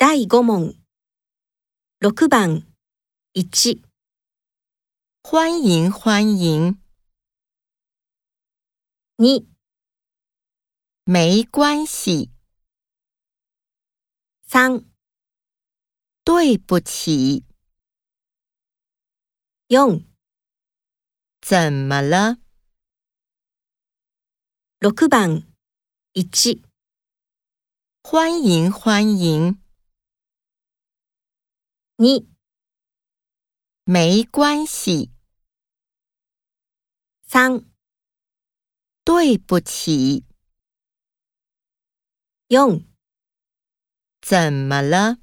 第5問。6番1。 欢迎欢迎， 2、 没关系， 3、 对不起， 4、 怎么了？ 6番1。 欢迎欢迎， 2、 没关系， 3、 对不起， 4。 怎么了？